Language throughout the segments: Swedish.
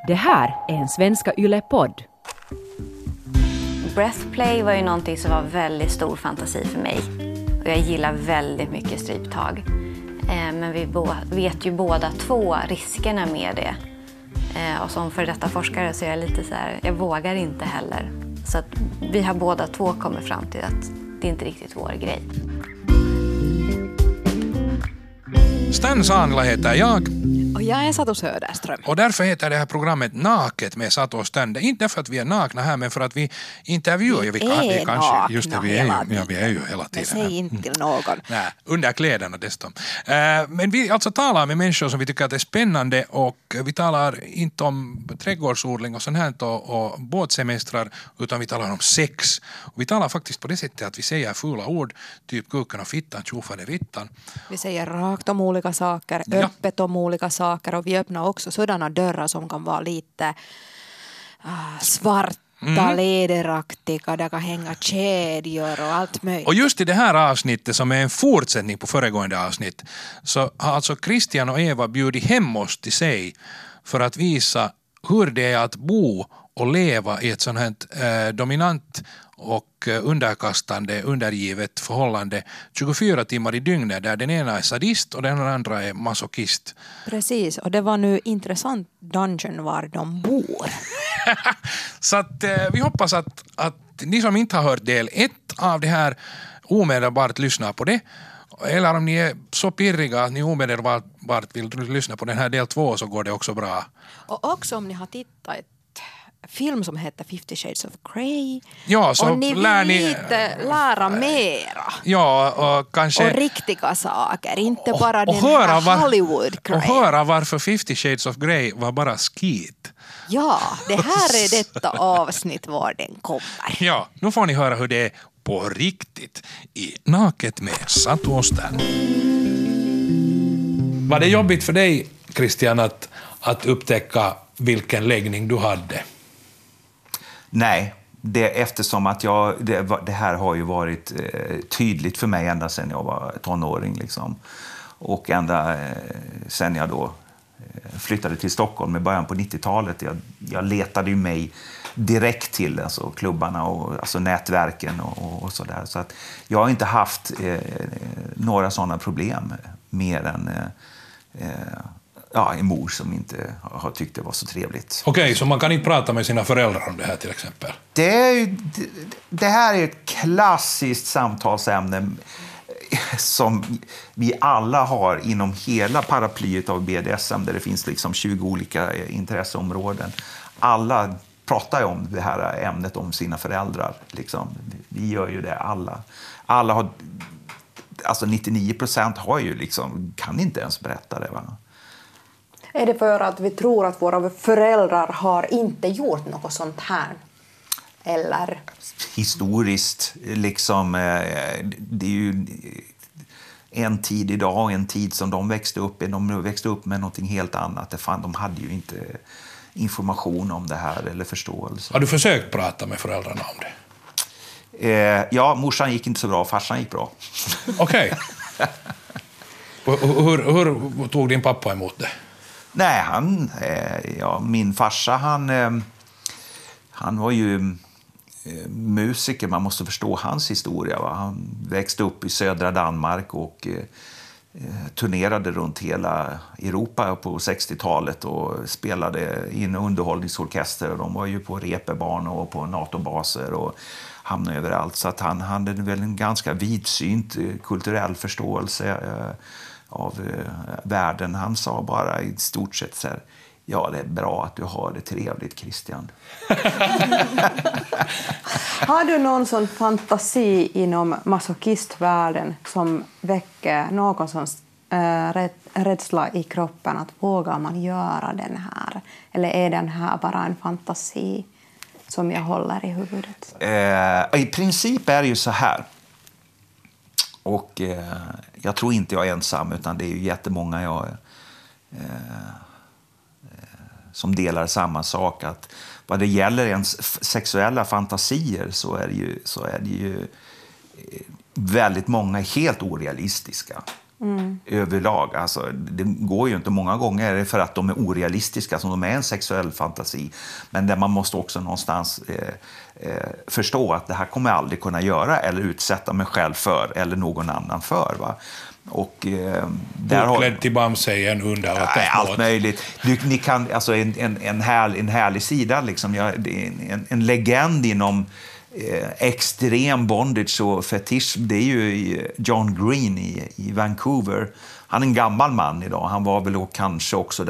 Det här är en Svenska Yle-podd. Breathplay var ju någonting som var väldigt stor fantasi för mig. Och jag gillar väldigt mycket stryptag. Men vi vet ju båda två riskerna med det. Och som för detta forskare så är jag lite så här, jag vågar inte heller. Så att vi har båda två kommit fram till att det inte är riktigt vår grej. Stan Saanila heter jag. Och jag är Satu Söderström. Och därför heter det här programmet Naket med Satu och Stan. Inte för att vi är nakna här, men för att vi intervjuar. Vi är nakna just det, vi är ju hela tiden. Men säg inte till någon. Nej, under kläderna dessutom. Men vi alltså talar med människor som vi tycker att är spännande, och vi talar inte om trädgårdsodling och sånt här och båtsemestrar, utan vi talar om sex. Och vi talar faktiskt på det sättet att vi säger fula ord, typ kuken och fittan, tjofaderittan. Vi säger rakt om olika saker, öppet om olika saker, och vi öppnar också sådana dörrar som kan vara lite svarta, lederaktiga, där kan hänga kedjor och allt möjligt. Och just i det här avsnittet, som är en fortsättning på föregående avsnitt, så har alltså Christian och Eva bjudit hem oss till sig för att visa hur det är att bo och leva i ett sånt här dominant och underkastande, undergivet förhållande 24 timmar i dygnet, där den ena är sadist och den andra är masochist. Precis, och det var nu intressant dungeon var de bor. Så att vi hoppas att ni som inte har hört del 1 av det här omedelbart lyssnar på det. Eller om ni är så pirriga att ni omedelbart vill lyssna på den här del 2, så går det också bra. Och också om ni har tittat film som heter 50 Shades of Grey. Ja, så och ni vill lite lära mera. Ja, och kanske... Och riktiga saker, inte bara den här Hollywood-Grey. Och höra varför 50 Shades of Grey var bara skit. Ja, det här är detta avsnitt var den kommer. Ja, nu får ni höra hur det är på riktigt i Naket med Satu och Stan. Var det jobbigt för dig, Christian, att upptäcka vilken läggning du hade? Nej, eftersom att det här har ju varit tydligt för mig ända sedan jag var tonåring. Liksom. Och ända sedan jag då flyttade till Stockholm i början på 90-talet. Jag letade ju mig direkt till alltså, klubbarna och alltså, nätverken och sådär. Så att jag har inte haft några sådana problem mer än... en mor som inte har tyckt det var så trevligt. Okej, så man kan inte prata med sina föräldrar om det här till exempel? Det här är ett klassiskt samtalsämne som vi alla har inom hela paraplyet av BDSM, där det finns liksom 20 olika intresseområden. Alla pratar ju om det här ämnet om sina föräldrar. Liksom. Vi gör ju det, alla har, alltså 99% har ju liksom, kan inte ens berätta det, va? Är det för att vi tror att våra föräldrar har inte gjort något sånt här? Eller? Historiskt, liksom, det är ju en tid idag och en tid som de växte upp i. De växte upp med någonting helt annat. De hade ju inte information om det här eller förståelse. Har du försökt prata med föräldrarna om det? Ja, morsan gick inte så bra, farsan gick bra. Okej. Hur tog din pappa emot det? Nej, min farsa, han var ju musiker. Man måste förstå hans historia. Va? Han växte upp i södra Danmark och turnerade runt hela Europa på 60-talet och spelade i en underhållningsorkester. De var ju på reperbarn och på NATO-baser och hamnade överallt. Så att han hade väl en ganska vidsynt kulturell förståelse av världen. Han sa bara i stort sett så här: ja, det är bra att du har det trevligt, Christian. Har du någon sån fantasi inom masochistvärlden som väcker någon sån rädsla i kroppen, att vågar man göra den här? Eller är den här bara en fantasi som jag håller i huvudet? I princip är det ju så här. Och jag tror inte jag är ensam, utan det är ju jättemånga som delar samma sak. Att vad det gäller ens sexuella fantasier så är det ju väldigt många helt orealistiska. överlag. Alltså, det går ju inte, många gånger är det för att de är orealistiska, som de är en sexuell fantasi. Men där man måste också någonstans förstå att det här kommer jag aldrig kunna göra eller utsätta mig själv för eller någon annan för. Va? Och Utklädd till Bamse i en undervattensbåt. Allt möjligt. Ni kan, alltså en härlig sida, liksom, en legend inom extrem bondage och fetisch, det är ju John Green i Vancouver. Han är en gammal man idag. Han var väl kanske också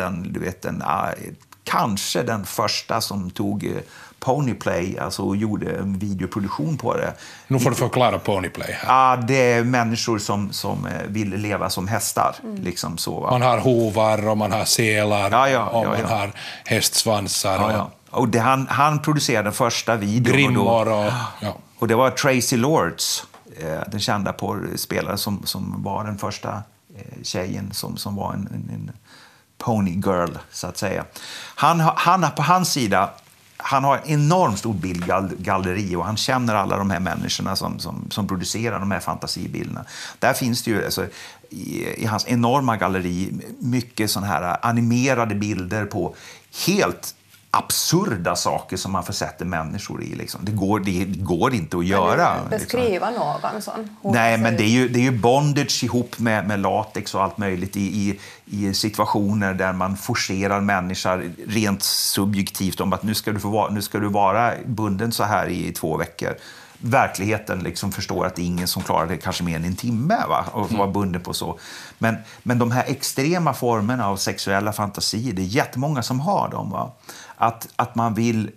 kanske den första som tog Ponyplay, alltså gjorde en videoproduktion på det. Nu får du förklara Ponyplay här. Ja, det är människor som vill leva som hästar. Liksom så, va? Man har hovar och man har selar och man har hästsvansar. Ja. Och han producerade den första videon. Grimmor och det var Tracy Lords, den kända porrspelare som var den första tjejen som var en pony girl, så att säga. Han på hans sida, han har en enormt stor bildgalleri och han känner alla de här människorna som producerar de här fantasibilderna. Där finns det ju alltså, i hans enorma galleri mycket sån här animerade bilder på helt absurda saker som man försätter människor i. Liksom. Det går inte att göra. Beskriva någon sån? Nej, men det är ju bondage ihop med latex och allt möjligt i situationer där man forcerar människor rent subjektivt om att nu ska du vara bunden så här i 2 veckor. Verkligheten liksom förstår att det är ingen som klarar det kanske mer än en timme, va? Och vara bunden på så. Men de här extrema formerna av sexuella fantasier, det är jättemånga som har dem, va? Att man vill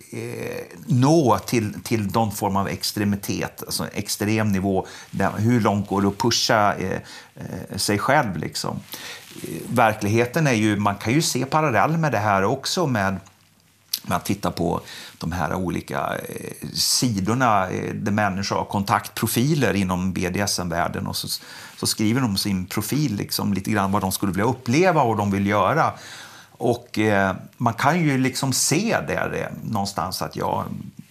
nå till någon form av extremitet, alltså extrem nivå, hur långt går det att pusha sig själv liksom. Verkligheten är ju, man kan ju se parallell med det här också med att titta på de här olika sidorna där människor har kontaktprofiler inom BDSM-världen och så skriver de sin profil liksom, lite grann vad de skulle vilja uppleva och vad de vill göra. Och man kan ju liksom se där någonstans att jag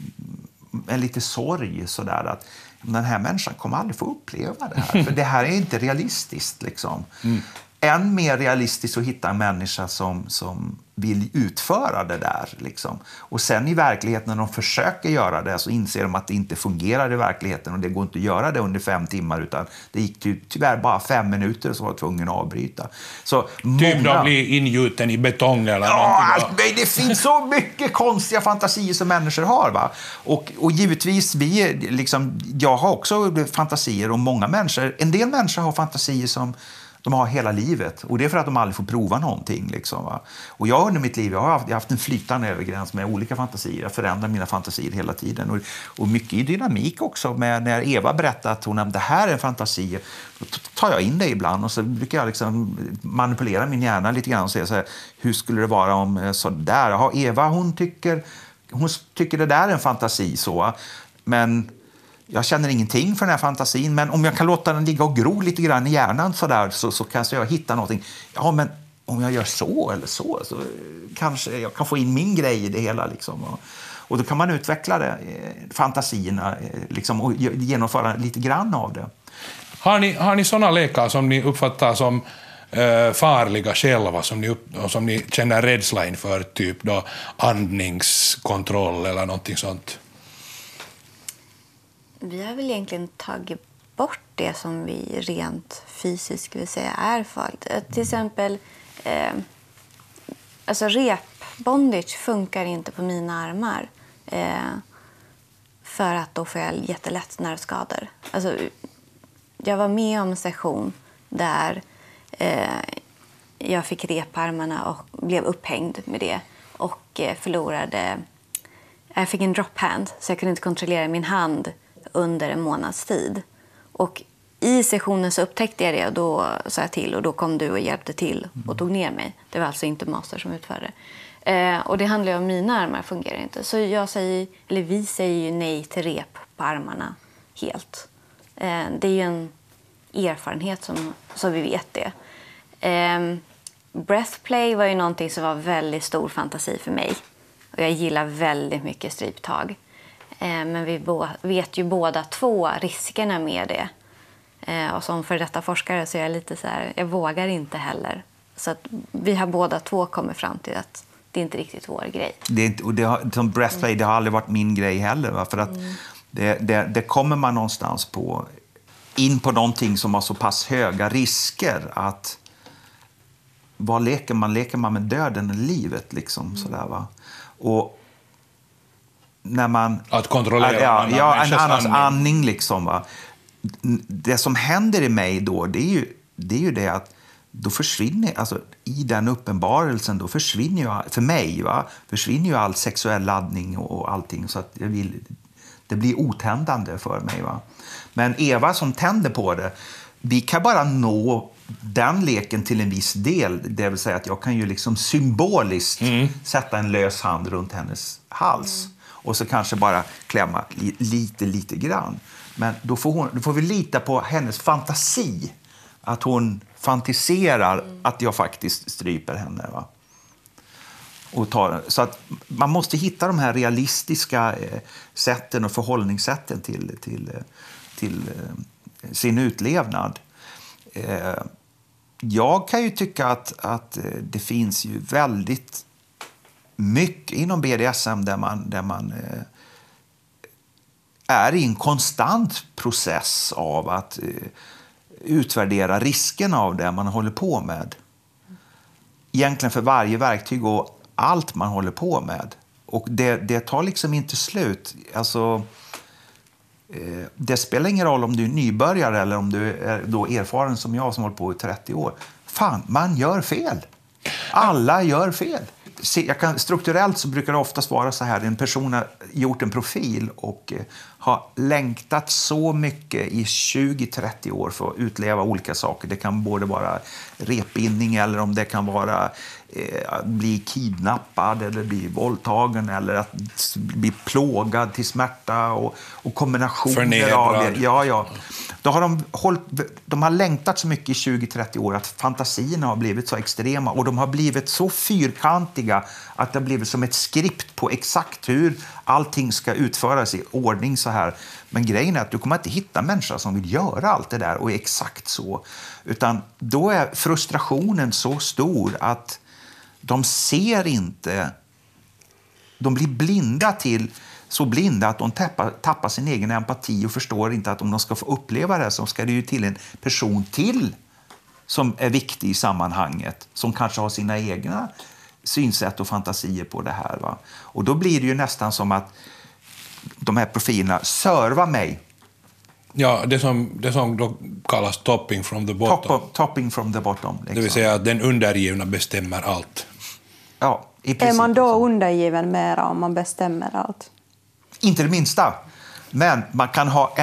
är lite sorg sådär att den här människan kommer aldrig få uppleva det här. För det här är inte realistiskt liksom. Än mer realistiskt att hitta en människa som vill utföra det där. Liksom. Och sen i verkligheten när de försöker göra det så inser de att det inte fungerar i verkligheten och det går inte att göra det under 5 timmar utan det gick tyvärr bara 5 minuter så var jag tvungen att avbryta. Så typ de blir ingjuten i betong eller någonting. Det finns så mycket konstiga fantasier som människor har. Va? Och givetvis, jag har också fantasier och många människor, en del människor har fantasier som de har hela livet. Och det är för att de aldrig får prova någonting. Liksom, va? Och jag under mitt liv jag har haft en flytande övergräns med olika fantasier. Jag förändrar mina fantasier hela tiden. Och mycket i dynamik också. När Eva berättar att det här är en fantasi, då tar jag in det ibland. Och så brukar jag liksom manipulera min hjärna lite grann och säga så här, hur skulle det vara om så där? Jaha, Eva hon tycker det där är en fantasi så. Men jag känner ingenting för den här fantasin, men om jag kan låta den ligga och gro lite grann i hjärnan så kanske jag hittar någonting. Ja, men om jag gör så eller så kanske jag kan få in min grej i det hela. Liksom. Och då kan man utveckla fantasierna liksom, och genomföra lite grann av det. Har ni sådana lekar som ni uppfattar som farliga själva, som ni känner rädsla inför, typ då andningskontroll eller någonting sånt? Vi har väl egentligen tagit bort det som vi rent fysiskt vill säga är farligt. Till exempel, alltså repbondage funkar inte på mina armar. För att då får jag jättelätt nervskador. Alltså, jag var med om en session där jag fick rep på armarna och blev upphängd med det. Och förlorade... Jag fick en drop hand så jag kunde inte kontrollera min hand under en månads tid. Och i sessionen så upptäckte jag det och då sa jag till och då kom du och hjälpte till och tog ner mig. Det var alltså inte master som utförde. Och det handlar ju om mina armar fungerar inte. Så vi säger ju nej till rep på armarna helt. Det är ju en erfarenhet så vi vet det. Breathplay var ju någonting som var väldigt stor fantasi för mig. Och jag gillar väldigt mycket stryptag. Men vi vet ju båda 2 riskerna med det. Och som för detta forskare så är jag lite så här, jag vågar inte heller. Så att vi har båda två kommit fram till att det är inte riktigt vår grej. Som breastplay, det har aldrig varit min grej heller. Va? För att det kommer man någonstans in på någonting som har så pass höga risker att vad leker man? Leker man med döden eller livet? Liksom, sådär, va? Och när man... Att kontrollera en annans andning. Liksom, va? Det som händer i mig då, det är ju det att då försvinner, alltså i den uppenbarelsen, då försvinner ju, för mig, försvinner ju all sexuell laddning och allting, så att det blir otändande för mig. Va? Men Eva som tänder på det, vi kan bara nå den leken till en viss del, det vill säga att jag kan ju liksom symboliskt sätta en lös hand runt hennes hals och så kanske bara klämma lite grann. Men då får vi lita på hennes fantasi, att hon fantiserar att jag faktiskt stryper henne. Va? Så att man måste hitta de här realistiska sätten och förhållningssätten till sin utlevnad. Jag kan ju tycka att det finns ju väldigt mycket inom BDSM där man är i en konstant process av att utvärdera riskerna av det man håller på med. Egentligen för varje verktyg och allt man håller på med. Och det tar liksom inte slut. Alltså, det spelar ingen roll om du är nybörjare eller om du är då erfaren som jag som håller på i 30 år. Fan, man gör fel. Alla gör fel. Strukturellt så brukar det oftast vara så här. En person har gjort en profil och har längtat så mycket i 20-30 år för att utleva olika saker. Det kan både vara repbindning eller om det kan vara bli kidnappad eller bli våldtagen eller att bli plågad till smärta och kombinationer av det. Ja. Då har de har längtat så mycket i 20-30 år att fantasierna har blivit så extrema och de har blivit så fyrkantiga att det har blivit som ett skript på exakt hur allting ska utföras i ordning så här. Men grejen är att du kommer inte hitta människor som vill göra allt det där och exakt så. Utan då är frustrationen så stor att de ser inte, de blir blinda så blinda att de tappar sin egen empati och förstår inte att om de ska få uppleva det så ska det ju till en person till som är viktig i sammanhanget, som kanske har sina egna synsätt och fantasier på det här. Va? Och då blir det ju nästan som att de här profilerna servar mig. Ja, det som då kallas topping from the bottom. Topping from the bottom. Liksom. Det vill säga att den undergivna bestämmer allt. Ja, i princip. Är man då undergiven mera om man bestämmer allt? Inte det minsta. Men man kan ha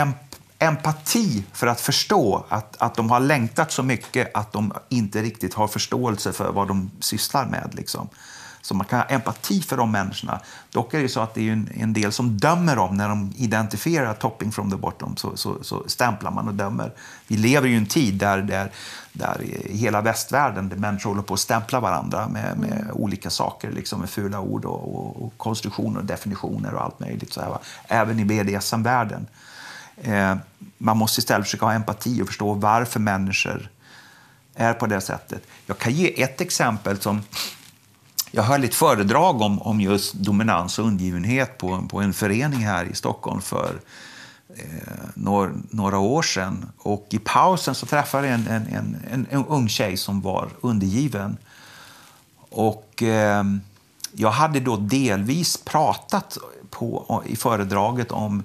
empati för att förstå att de har längtat så mycket att de inte riktigt har förståelse för vad de sysslar med. Liksom. Så man kan ha empati för de människorna. Dock är det så att det är en del som dömer dem när de identifierar topping from the bottom. Så stämplar man och dömer. Vi lever ju i en tid där i hela västvärlden där människor håller på att stämpla varandra med olika saker. Liksom med fula ord och konstruktioner och definitioner och allt möjligt. Så här, va? Även i BDSM-världen. Man måste istället försöka ha empati och förstå varför människor är på det sättet. Jag kan ge ett exempel som... Jag höll ett föredrag om just dominans och undergivenhet på en förening här i Stockholm för några år sedan. Och i pausen så träffade jag en ung tjej som var undergiven. Och jag hade då delvis pratat i föredraget om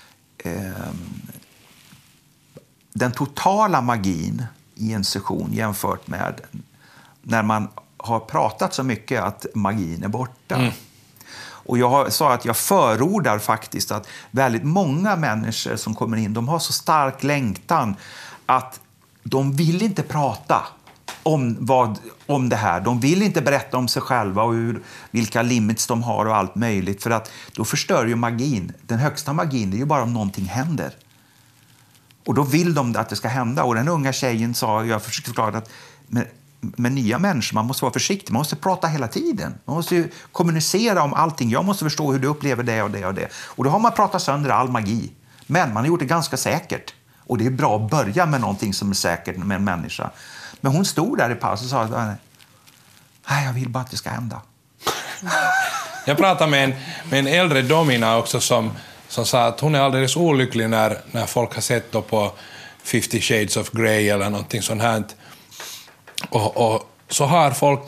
den totala magin i en session jämfört med när man har pratat så mycket att magin är borta. Och jag sa att jag förordar faktiskt att väldigt många människor som kommer in, de har så stark längtan att de vill inte prata om det här. De vill inte berätta om sig själva och vilka limits de har och allt möjligt, för att då förstör ju magin. Den högsta magin är ju bara om någonting händer. Och då vill de att det ska hända. Och den unga tjejen sa, jag försökte förklara att med nya människor, man måste vara försiktig. Man måste prata hela tiden. Man måste ju kommunicera om allting. Jag måste förstå hur du upplever det och det och det. Och då har man pratat sönder all magi. Men man har gjort det ganska säkert. Och det är bra att börja med någonting som är säkert med en människa. Men hon stod där i paus och sa, nej, jag vill bara att det ska hända. Jag pratade med en äldre domina också som sa att hon är alldeles olycklig när folk har sett då på 50 Shades of Grey eller någonting sånt här. Och så har folk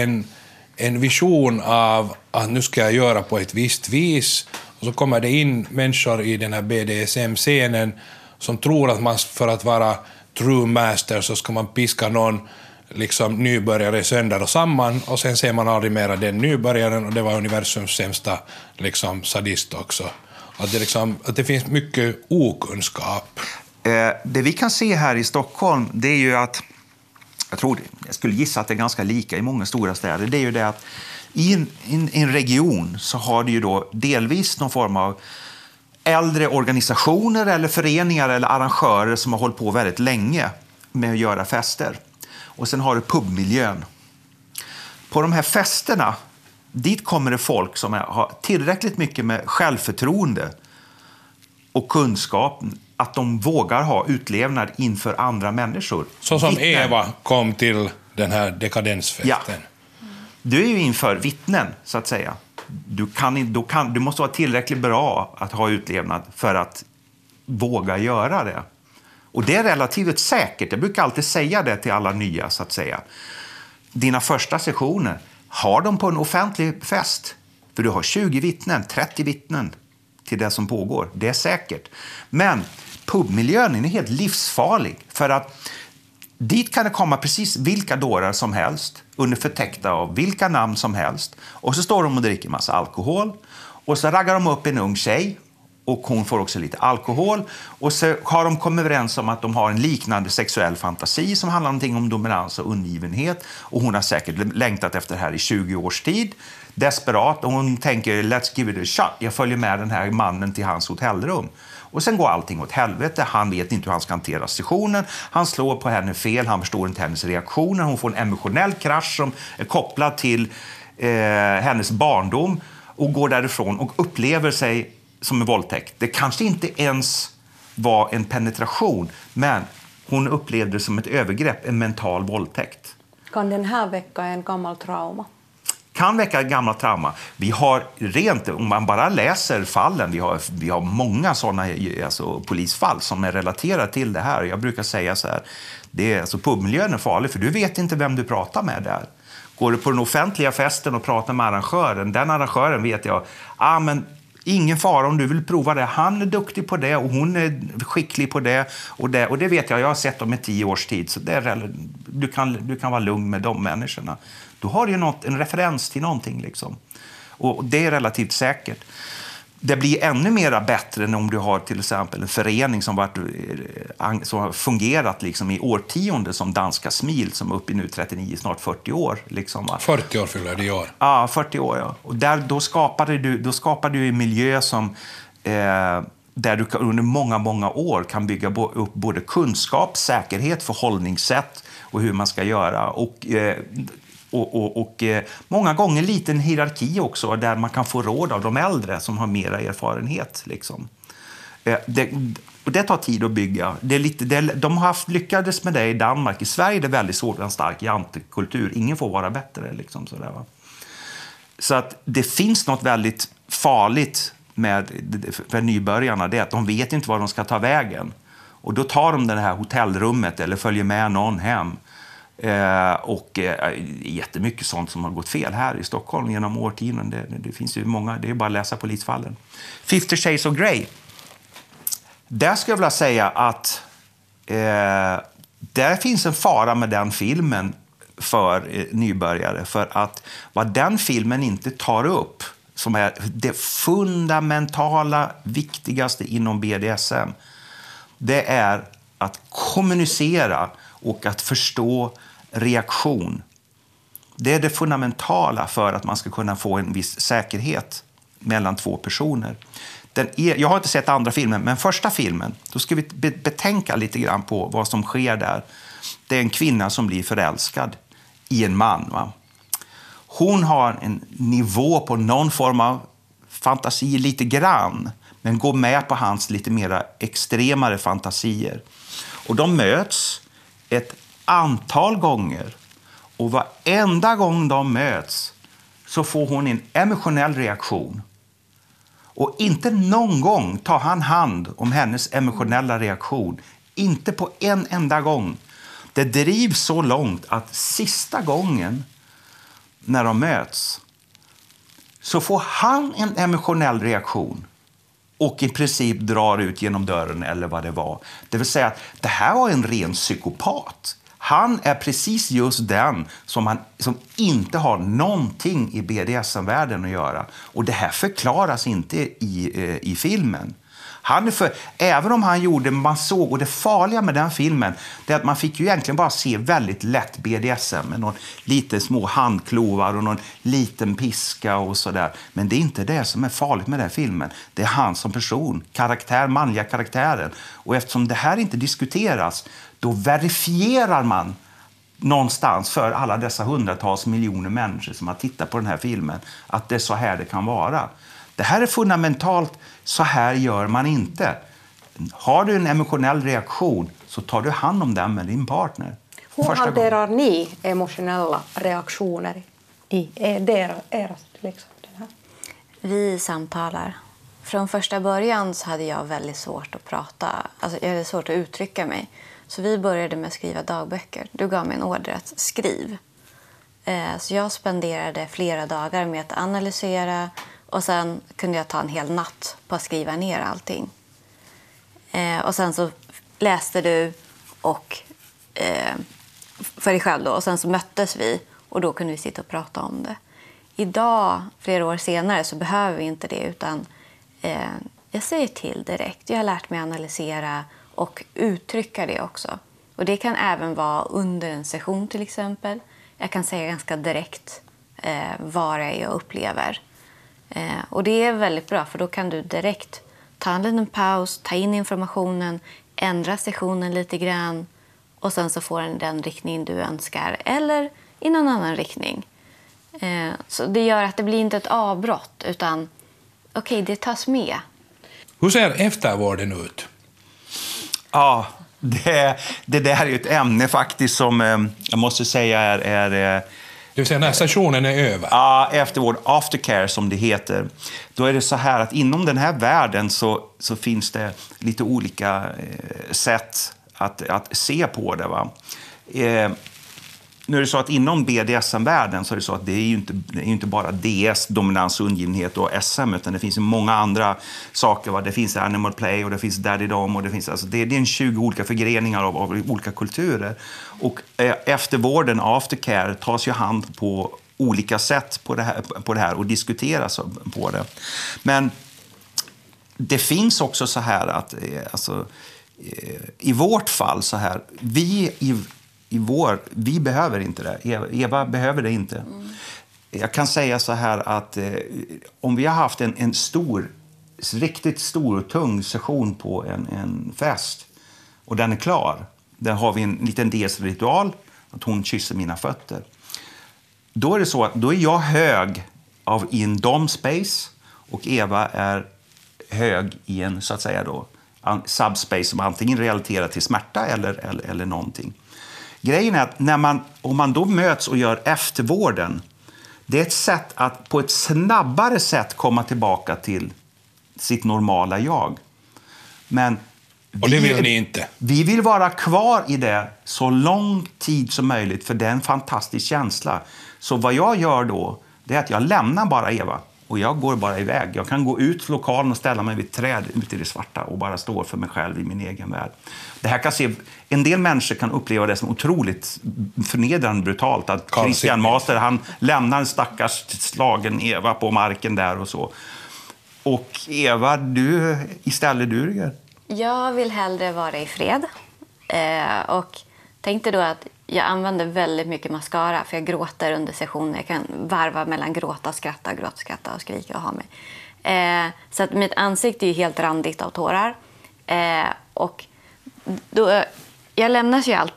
en vision av att nu ska jag göra på ett visst vis. Och så kommer det in människor i den här BDSM-scenen som tror att man för att vara true master så ska man piska någon liksom nybörjare sönder och samman, och sen ser man aldrig mera den nybörjaren, och det var universums sämsta liksom sadist också. Att det finns mycket okunskap. Det vi kan se här i Stockholm, det är ju att jag skulle gissa att det är ganska lika i många stora städer. Det är ju det att i en region så har det ju då delvis någon form av äldre organisationer eller föreningar eller arrangörer som har hållit på väldigt länge med att göra fester. Och sen har du pubmiljön. På de här festerna, dit kommer det folk som har tillräckligt mycket med självförtroende och kunskap att de vågar ha utlevnad inför andra människor. Så som vittnen. Eva kom till den här dekadensfesten. Ja. Du är ju inför vittnen, så att säga. Du måste vara tillräckligt bra att ha utlevnad för att våga göra det. Och det är relativt säkert. Jag brukar alltid säga det till alla nya, så att säga. Dina första sessioner, har de på en offentlig fest. För du har 20 vittnen, 30 vittnen till det som pågår. Det är säkert. Men pubmiljön är helt livsfarlig. För att dit kan det komma precis vilka dårar som helst under förtäckta av vilka namn som helst. Och så står de och dricker massa alkohol. Och så raggar de upp en ung tjej. Och hon får också lite alkohol. Och så har de kommit överens om att de har en liknande sexuell fantasi som handlar om dominans och undergivenhet. Och hon har säkert längtat efter det här i 20 års tid. Desperat. Och hon tänker, let's give it a shot. Jag följer med den här mannen till hans hotellrum. Och sen går allting åt helvete. Han vet inte hur han ska hantera sessionen. Han slår på henne fel. Han förstår inte hennes reaktioner. Hon får en emotionell krasch som är kopplad till hennes barndom. Och går därifrån och upplever sig som en våldtäkt. Det kanske inte ens var en penetration, men hon upplevde det som ett övergrepp, en mental våldtäkt. Kan den här väcka en gammal trauma? Kan väcka ett gammalt trauma. Vi har rent, om man bara läser fallen, vi har många sådana polisfall som är relaterade till det här. Jag brukar säga så här, pubmiljön är farlig för du vet inte vem du pratar med där. Går du på den offentliga festen och pratar med arrangören, den arrangören vet jag, men ingen fara om du vill prova det. Han är duktig på det och hon är skicklig på det. Och det vet jag har sett dem i 10 års tid. Så du kan vara lugn med de människorna. Då har du ju en referens till någonting. Liksom. Och det är relativt säkert. Det blir ännu mer bättre än om du har till exempel en förening som har fungerat liksom i årtionde som Danska Smil som är uppe i nu 39, snart 40 år. Liksom, 40 år fyller det i år. Ja, 40 år. Ja. Och då skapar du en miljö som, där du under många år kan bygga upp både kunskap, säkerhet, förhållningssätt och hur man ska göra. Och många gånger liten hierarki också där man kan få råd av de äldre som har mera erfarenhet. Liksom. Och det tar tid att bygga. De har lyckades med det i Danmark. I Sverige är det väldigt svårt med en stark jantekultur. Ingen får vara bättre. Liksom, sådär, va? Så att det finns något väldigt farligt för nybörjarna. Det är att de vet inte var de ska ta vägen. Och då tar de det här hotellrummet eller följer med någon hem. Och jättemycket sånt som har gått fel här i Stockholm genom årtionden. Det finns ju många, det är bara att läsa polisfallen. 50 Shades of Grey. Där skulle jag vilja säga att där finns en fara med den filmen för nybörjare. För att vad den filmen inte tar upp, som är det fundamentala viktigaste inom BDSM, det är att kommunicera och att förstå reaktion. Det är det fundamentala för att man ska kunna få en viss säkerhet mellan två personer. Jag har inte sett andra filmen, men första filmen, då ska vi betänka lite grann på vad som sker där. Det är en kvinna som blir förälskad i en man. Va? Hon har en nivå på någon form av fantasier lite grann, men går med på hans lite mer extremare fantasier. Och de möts ett antal gånger. Och varenda gång de möts så får hon en emotionell reaktion. Och inte någon gång tar han hand om hennes emotionella reaktion. Inte på en enda gång. Det drivs så långt att sista gången när de möts så får han en emotionell reaktion och i princip drar ut genom dörren eller vad det var. Det vill säga att det här var en ren psykopat. Han är precis just den som inte har någonting i BDSM-världen att göra. Och det här förklaras inte i filmen. Även om han gjorde, man såg, och det farliga med den filmen, det är att man fick ju egentligen bara se väldigt lätt BDSM med någon lite små handklovar och någon liten piska och sådär. Men det är inte det som är farligt med den filmen. Det är han som person, manliga karaktären. Och eftersom det här inte diskuteras, då verifierar man någonstans för alla dessa hundratals miljoner människor som har tittat på den här filmen att det är så här det kan vara. Det här är fundamentalt, så här gör man inte. Har du en emotionell reaktion så tar du hand om den med din partner. Hur hanterar ni emotionella reaktioner i era liksom, den här? Vi samtalar. Från första början så hade jag väldigt svårt att prata. Alltså jag hade svårt att uttrycka mig. Så vi började med att skriva dagböcker. Du gav mig en order att skriv. Så jag spenderade flera dagar med att analysera. Och sen kunde jag ta en hel natt på att skriva ner allting. Och sen så läste du för dig själv då. Och sen så möttes vi och då kunde vi sitta och prata om det. Idag, flera år senare, så behöver vi inte det, utan jag säger till direkt. Jag har lärt mig analysera och uttrycka det också. Och det kan även vara under en session till exempel. Jag kan säga ganska direkt vad det är jag upplever. Och det är väldigt bra, för då kan du direkt ta en liten paus, ta in informationen, ändra sessionen lite grann och sen så får den riktning du önskar eller i någon annan riktning. Så det gör att det blir inte ett avbrott, utan okej, det tas med. Hur ser eftervården ut? Ja, det där är ju ett ämne faktiskt som jag måste säga är det vill säga när sessionen är över? Ja, eftervård, aftercare som det heter. Då är det så här att inom den här världen så finns det lite olika sätt att se på det. Va? Nu är det så att inom BDSM-världen så är det så att det är ju inte bara DS, dominans, undergivenhet och SM, utan det finns ju många andra saker. Va? Det finns animal play och det finns daddy-dom och det finns det är en 20 olika förgreningar av olika kulturer. Och eftervården, aftercare, tas ju hand på olika sätt på det här och diskuteras på det. Men det finns också så här att i vårt fall så här, vi behöver inte det. Eva behöver det inte. Jag kan säga så här att om vi har haft en riktigt stor och tung session på en fest och den är klar, där har vi en liten DS-ritual att hon kysser mina fötter. Då är det så att då är jag hög i en dom-space och Eva är hög i en, så att säga då, subspace som antingen relaterar till smärta eller någonting. Grejen är att om man då möts och gör eftervården, det är ett sätt att på ett snabbare sätt komma tillbaka till sitt normala jag. Men och det vill ni inte? Vi vill vara kvar i det så lång tid som möjligt, för det är en fantastisk känsla. Så vad jag gör då, det är att jag lämnar bara Eva. Och jag går bara iväg. Jag kan gå ut från lokalen och ställa mig vid ett träd ute i det svarta och bara stå för mig själv i min egen värld. Det här kan en del människor kan uppleva det som otroligt förnedrande brutalt. Att Christian Master, han lämnar en stackars slagen Eva på marken där och så. Och Eva, du Rüdiger? Jag vill hellre vara i fred. Och tänkte då att jag använder väldigt mycket mascara, för jag gråter under sessioner. Jag kan varva mellan gråta, skratta och skrika och ha mig. Så att mitt ansikte är ju helt randigt av tårar. Och då, jag lämnas ju alltid.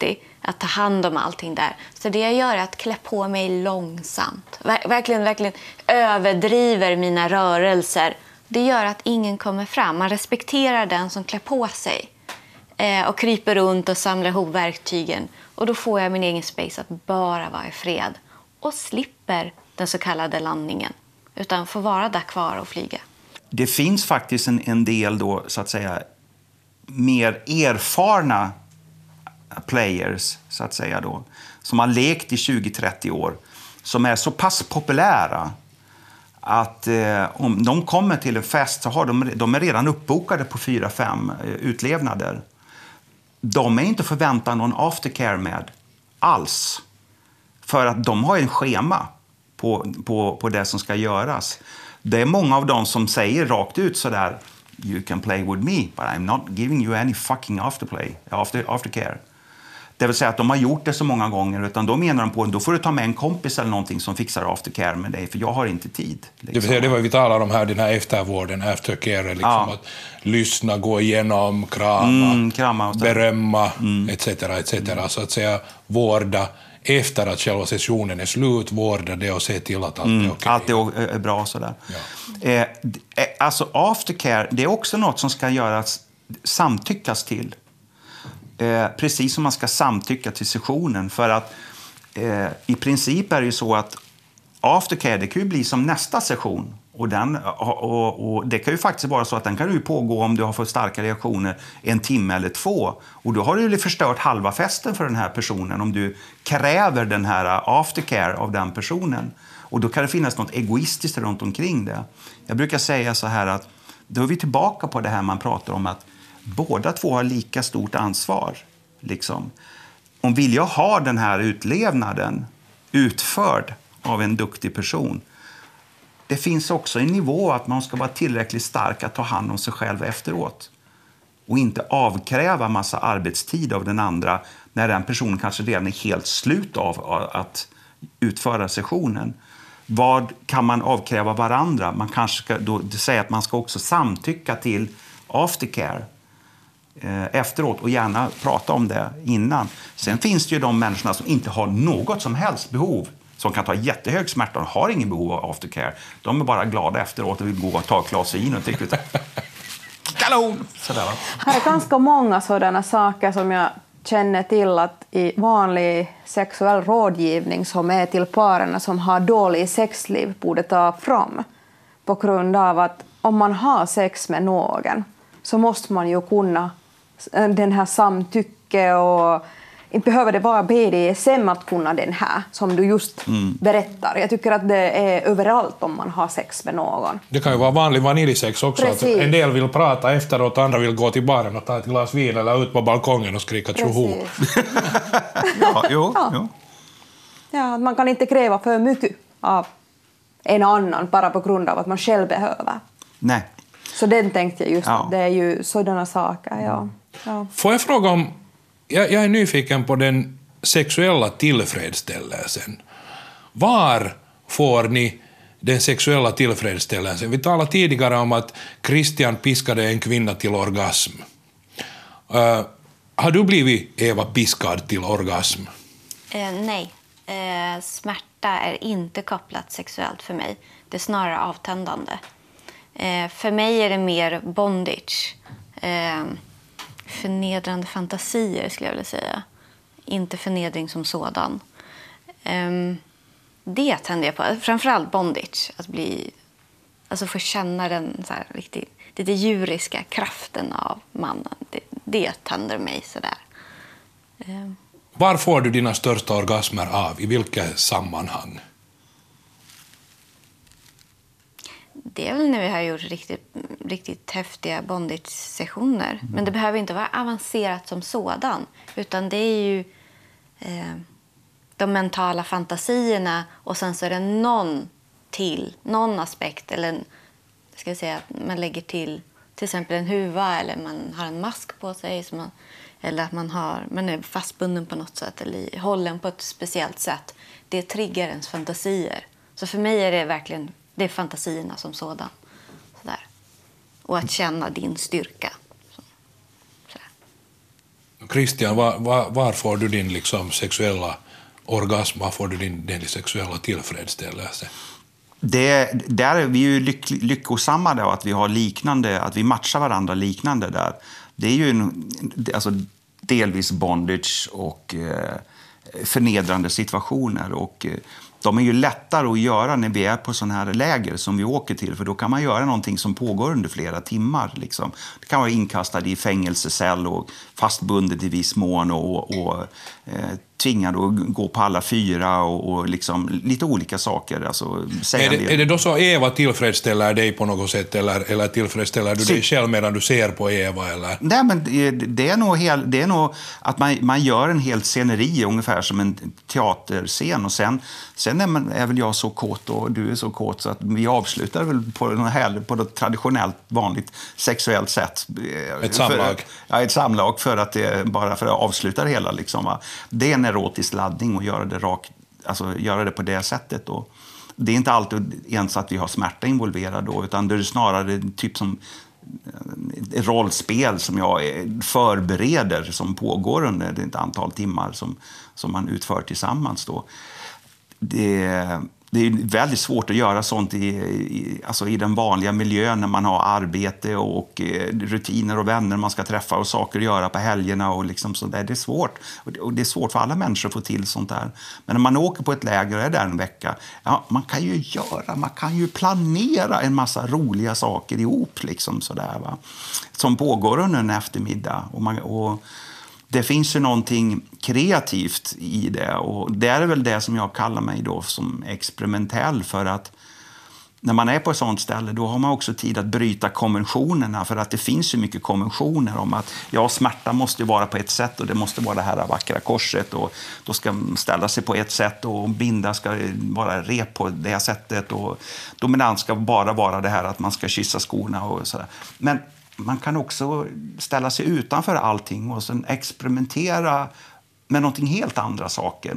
att ta hand om allting där. Så det jag gör är att klä på mig långsamt. Verkligen överdriver mina rörelser. Det gör att ingen kommer fram. Man respekterar den som klär på sig. Och kryper runt och samlar ihop verktygen. Och då får jag min egen space att bara vara i fred. Och slipper den så kallade landningen. Utan får vara där kvar och flyga. Det finns faktiskt en del då, så att säga, mer erfarna players, så att säga då, som har lekt i 20-30 år, som är så pass populära att om de kommer till en fest så har de är redan uppbokade på 4-5 utlevnader. De är inte förväntan någon aftercare med alls. För att de har en schema på det som ska göras. Det är många av dem som säger rakt ut så där: you can play with me, but I'm not giving you any fucking aftercare. Det vill säga att de har gjort det så många gånger, utan då menar de på då får du ta med en kompis eller någonting som fixar aftercare med dig, för jag har inte tid. Liksom. Det vill säga, det var vi talar om här, den här eftervården, aftercare, liksom att lyssna, gå igenom, krama berömma, etc. Så att säga vårda efter att själva sessionen är slut, vårda det och se till att allt är okej. Allt är bra sådär. Ja. Alltså aftercare, det är också något som ska göras, samtyckas till. Precis som man ska samtycka till sessionen. För att i princip är det ju så att aftercare, det kan ju bli som nästa session. Och det kan ju faktiskt vara så att den kan ju pågå, om du har fått starka reaktioner, 1 timme eller 2. Och då har du ju förstört halva festen för den här personen om du kräver den här aftercare av den personen. Och då kan det finnas något egoistiskt runt omkring det. Jag brukar säga så här att då är vi tillbaka på det här man pratar om, att båda två har lika stort ansvar. Liksom. Om vill jag ha den här utlevnaden utförd av en duktig person, det finns också en nivå att man ska vara tillräckligt stark att ta hand om sig själv efteråt. Och inte avkräva massa arbetstid av den andra när den personen kanske redan är helt slut av att utföra sessionen. Vad kan man avkräva varandra? Man kanske ska då säga att man ska också samtycka till aftercare efteråt och gärna prata om det innan. Sen finns det ju de människorna som inte har något som helst behov, som kan ta jättehög smärta och har ingen behov av aftercare. De är bara glada efteråt och vill gå och ta ett glas vin och tycker kanon! Sådär, va? Här är ganska många sådana saker som jag känner till att i vanlig sexuell rådgivning som är till paren som har dålig sexliv borde ta fram. På grund av att om man har sex med någon så måste man ju kunna den här samtycke, och inte behöver det vara BDSM att kunna den här som du just berättar. Jag tycker att det är överallt om man har sex med någon. Det kan ju vara vanlig vaniljsex också. Att en del vill prata efteråt, andra vill gå till baren och ta ett glas vin eller ut på balkongen och skrika tjoho. Ja, man kan inte kräva för mycket av en annan bara på grund av att man själv behöver. Nej. Så den tänkte jag just, det är ju sådana saker, ja. Får jag fråga om, jag är nyfiken på den sexuella tillfredsställelsen. Var får ni den sexuella tillfredsställelsen? Vi talade tidigare om att Christian piskade en kvinna till orgasm. Har du blivit, Eva, piskad till orgasm? Nej. Smärta är inte kopplat sexuellt för mig. Det är snarare avtändande. För mig är det mer bondage. Förnedrande fantasier skulle jag vilja säga. Inte förnedring som sådan. Det tänder jag på. Framförallt bondage. Alltså få känna den så här riktigt, lite djuriska kraften av mannen. Det tänder mig sådär. Var får du dina största orgasmer av? I vilka sammanhang? Det är väl när vi har gjort riktigt häftiga bondage-sessioner. Men det behöver inte vara avancerat som sådan. Utan det är ju de mentala fantasierna. Och sen så är det någon aspekt. Eller ska jag säga att man lägger till exempel en huva. Eller man har en mask på sig. Eller att man är fastbunden på något sätt. Eller hållen på ett speciellt sätt. Det triggar ens fantasier. Så för mig är det verkligen... Det är fantasierna som sådan. Sådär. Och att känna din styrka. Christian, var får du din liksom sexuella orgasm, var får du din sexuella tillfredsställelse? Där är vi ju lyckosamma då, att vi har liknande, att vi matchar varandra liknande där. Det är ju alltså delvis bondage och förnedrande situationer, och de är ju lättare att göra när vi är på sådana här läger som vi åker till, för då kan man göra någonting som pågår under flera timmar. Liksom. Det kan vara inkastad i fängelsecell och fastbundet i viss mån och tvingad att gå på alla fyra och liksom lite olika saker. Alltså, är det då så Eva tillfredsställer dig på något sätt, eller tillfredsställer du dig själv medan du ser på Eva? Eller? Nej, men det är nog att man gör en hel sceneri ungefär som en teaterscen, och sen är väl jag så kåt och du är så kåt så att vi avslutar väl på något traditionellt vanligt sexuellt sätt. Ett samlag? Ett samlag bara för att avsluta det hela. Liksom, va? Det är en erotisk laddning och göra det på det sättet. Och det är inte alltid ens att vi har smärta involverad då, utan det är snarare typ som ett rollspel som jag förbereder, som pågår under ett antal timmar som man utför tillsammans då. Det är väldigt svårt att göra sånt i den vanliga miljön när man har arbete och rutiner och vänner man ska träffa och saker att göra på helgerna och liksom så där. Det är svårt. Och det är svårt för alla människor att få till sånt där. Men när man åker på ett läger och är där en vecka, man kan ju planera en massa roliga saker ihop liksom sådär, va? Som pågår under en eftermiddag. Och det finns ju någonting kreativt i det, och det är väl det som jag kallar mig då som experimentell, för att när man är på ett sånt ställe då har man också tid att bryta konventionerna, för att det finns ju mycket konventioner om att smärta måste vara på ett sätt och det måste vara det här vackra korset och då ska man ställa sig på ett sätt och binda ska vara rep på det sättet och dominant ska bara vara det här att man ska kyssa skorna och sådär. Men man kan också ställa sig utanför allting och sen experimentera med någonting helt andra saker.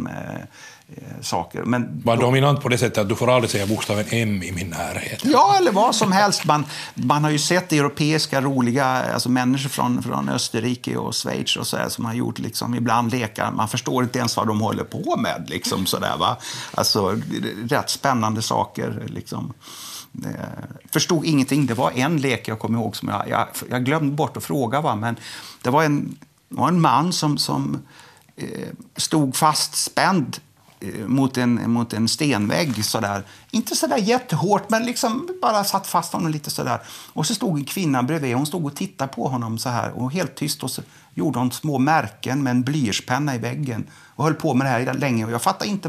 Men var dominant på det sättet att du får aldrig säga bokstaven M i min närhet? Ja, eller vad som helst. Man har ju sett europeiska roliga människor från Österrike och Schweiz och så här, som har gjort liksom, ibland lekar. Man förstår inte ens vad de håller på med. Liksom, så där, va? Alltså, rätt spännande saker. Liksom. Förstod ingenting. Det var en lek jag kommer ihåg som jag glömde bort att fråga, va? Men det var en man som stod fastspänd mot en stenvägg sådär. Inte sådär jättehårt, men liksom bara satt fast honom lite sådär. Och så stod en kvinna bredvid, hon stod och tittade på honom så här och helt tyst, och så gjorde hon små märken med en blyertspenna i väggen och höll på med det här länge, och jag fattade inte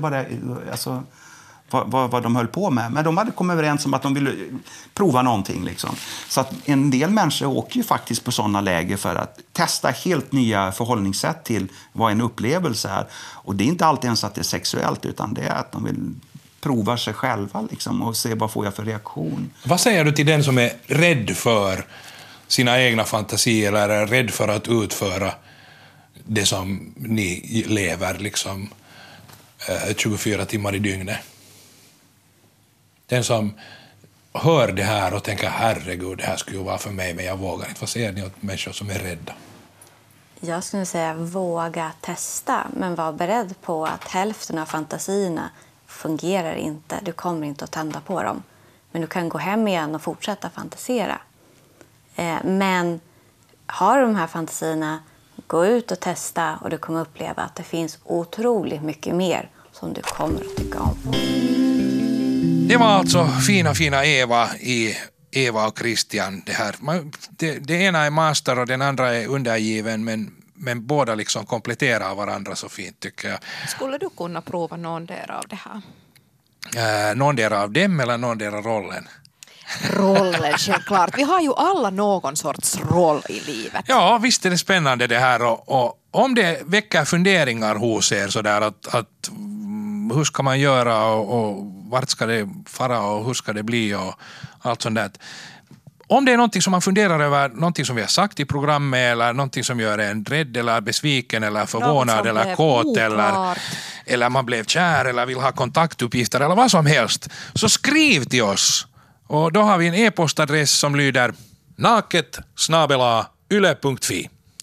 vad de höll på med. Men de hade kommit överens om att de ville prova någonting. Liksom. Så att en del människor åker ju faktiskt på sådana läger för att testa helt nya förhållningssätt till vad en upplevelse är. Och det är inte alltid ens att det är sexuellt, utan det är att de vill prova sig själva liksom, och se vad får jag för reaktion. Vad säger du till den som är rädd för sina egna fantasier eller är rädd för att utföra det som ni lever liksom 24 timmar i dygnet? Den som hör det här och tänker herregud, det här skulle ju vara för mig, men jag vågar inte. Vad säger ni åt människor som är rädda? Jag skulle säga våga testa, men var beredd på att hälften av fantasierna fungerar inte. Du kommer inte att tända på dem. Men du kan gå hem igen och fortsätta fantasera. Men har de här fantasierna, gå ut och testa, och du kommer uppleva att det finns otroligt mycket mer som du kommer att tycka om. Det var alltså fina Eva i Eva och Christian. Det ena är master och den andra är undergiven, men båda liksom kompletterar varandra så fint, tycker jag. Skulle du kunna prova någon del av det här? Någon del av dem eller någon del av rollen? Rollen, självklart. Vi har ju alla någon sorts roll i livet. Ja, visst är det spännande det här. Och om det väcker funderingar hos er sådär att hur ska man göra och vart ska det fara och hur ska det bli och allt sånt där. Om det är någonting som man funderar över, någonting som vi har sagt i programmet eller någonting som gör en rädd eller besviken eller förvånad eller kåt eller man blev kär eller vill ha kontaktuppgifter eller vad som helst, så skriv till oss. Och då har vi en e-postadress som lyder naket@yle.fi.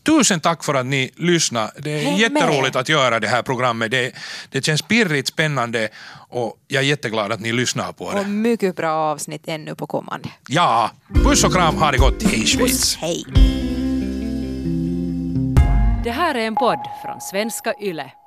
Tusen tack för att ni lyssnar. Det är jätteroligt att göra det här programmet. Det känns pirrigt, spännande och jag är jätteglad att ni lyssnar på det. Och mycket bra avsnitt ännu på kommande. Ja, puss och kram, ha det gott. Hej Schweiz. Puss, hej. Det här är en podd från Svenska Yle.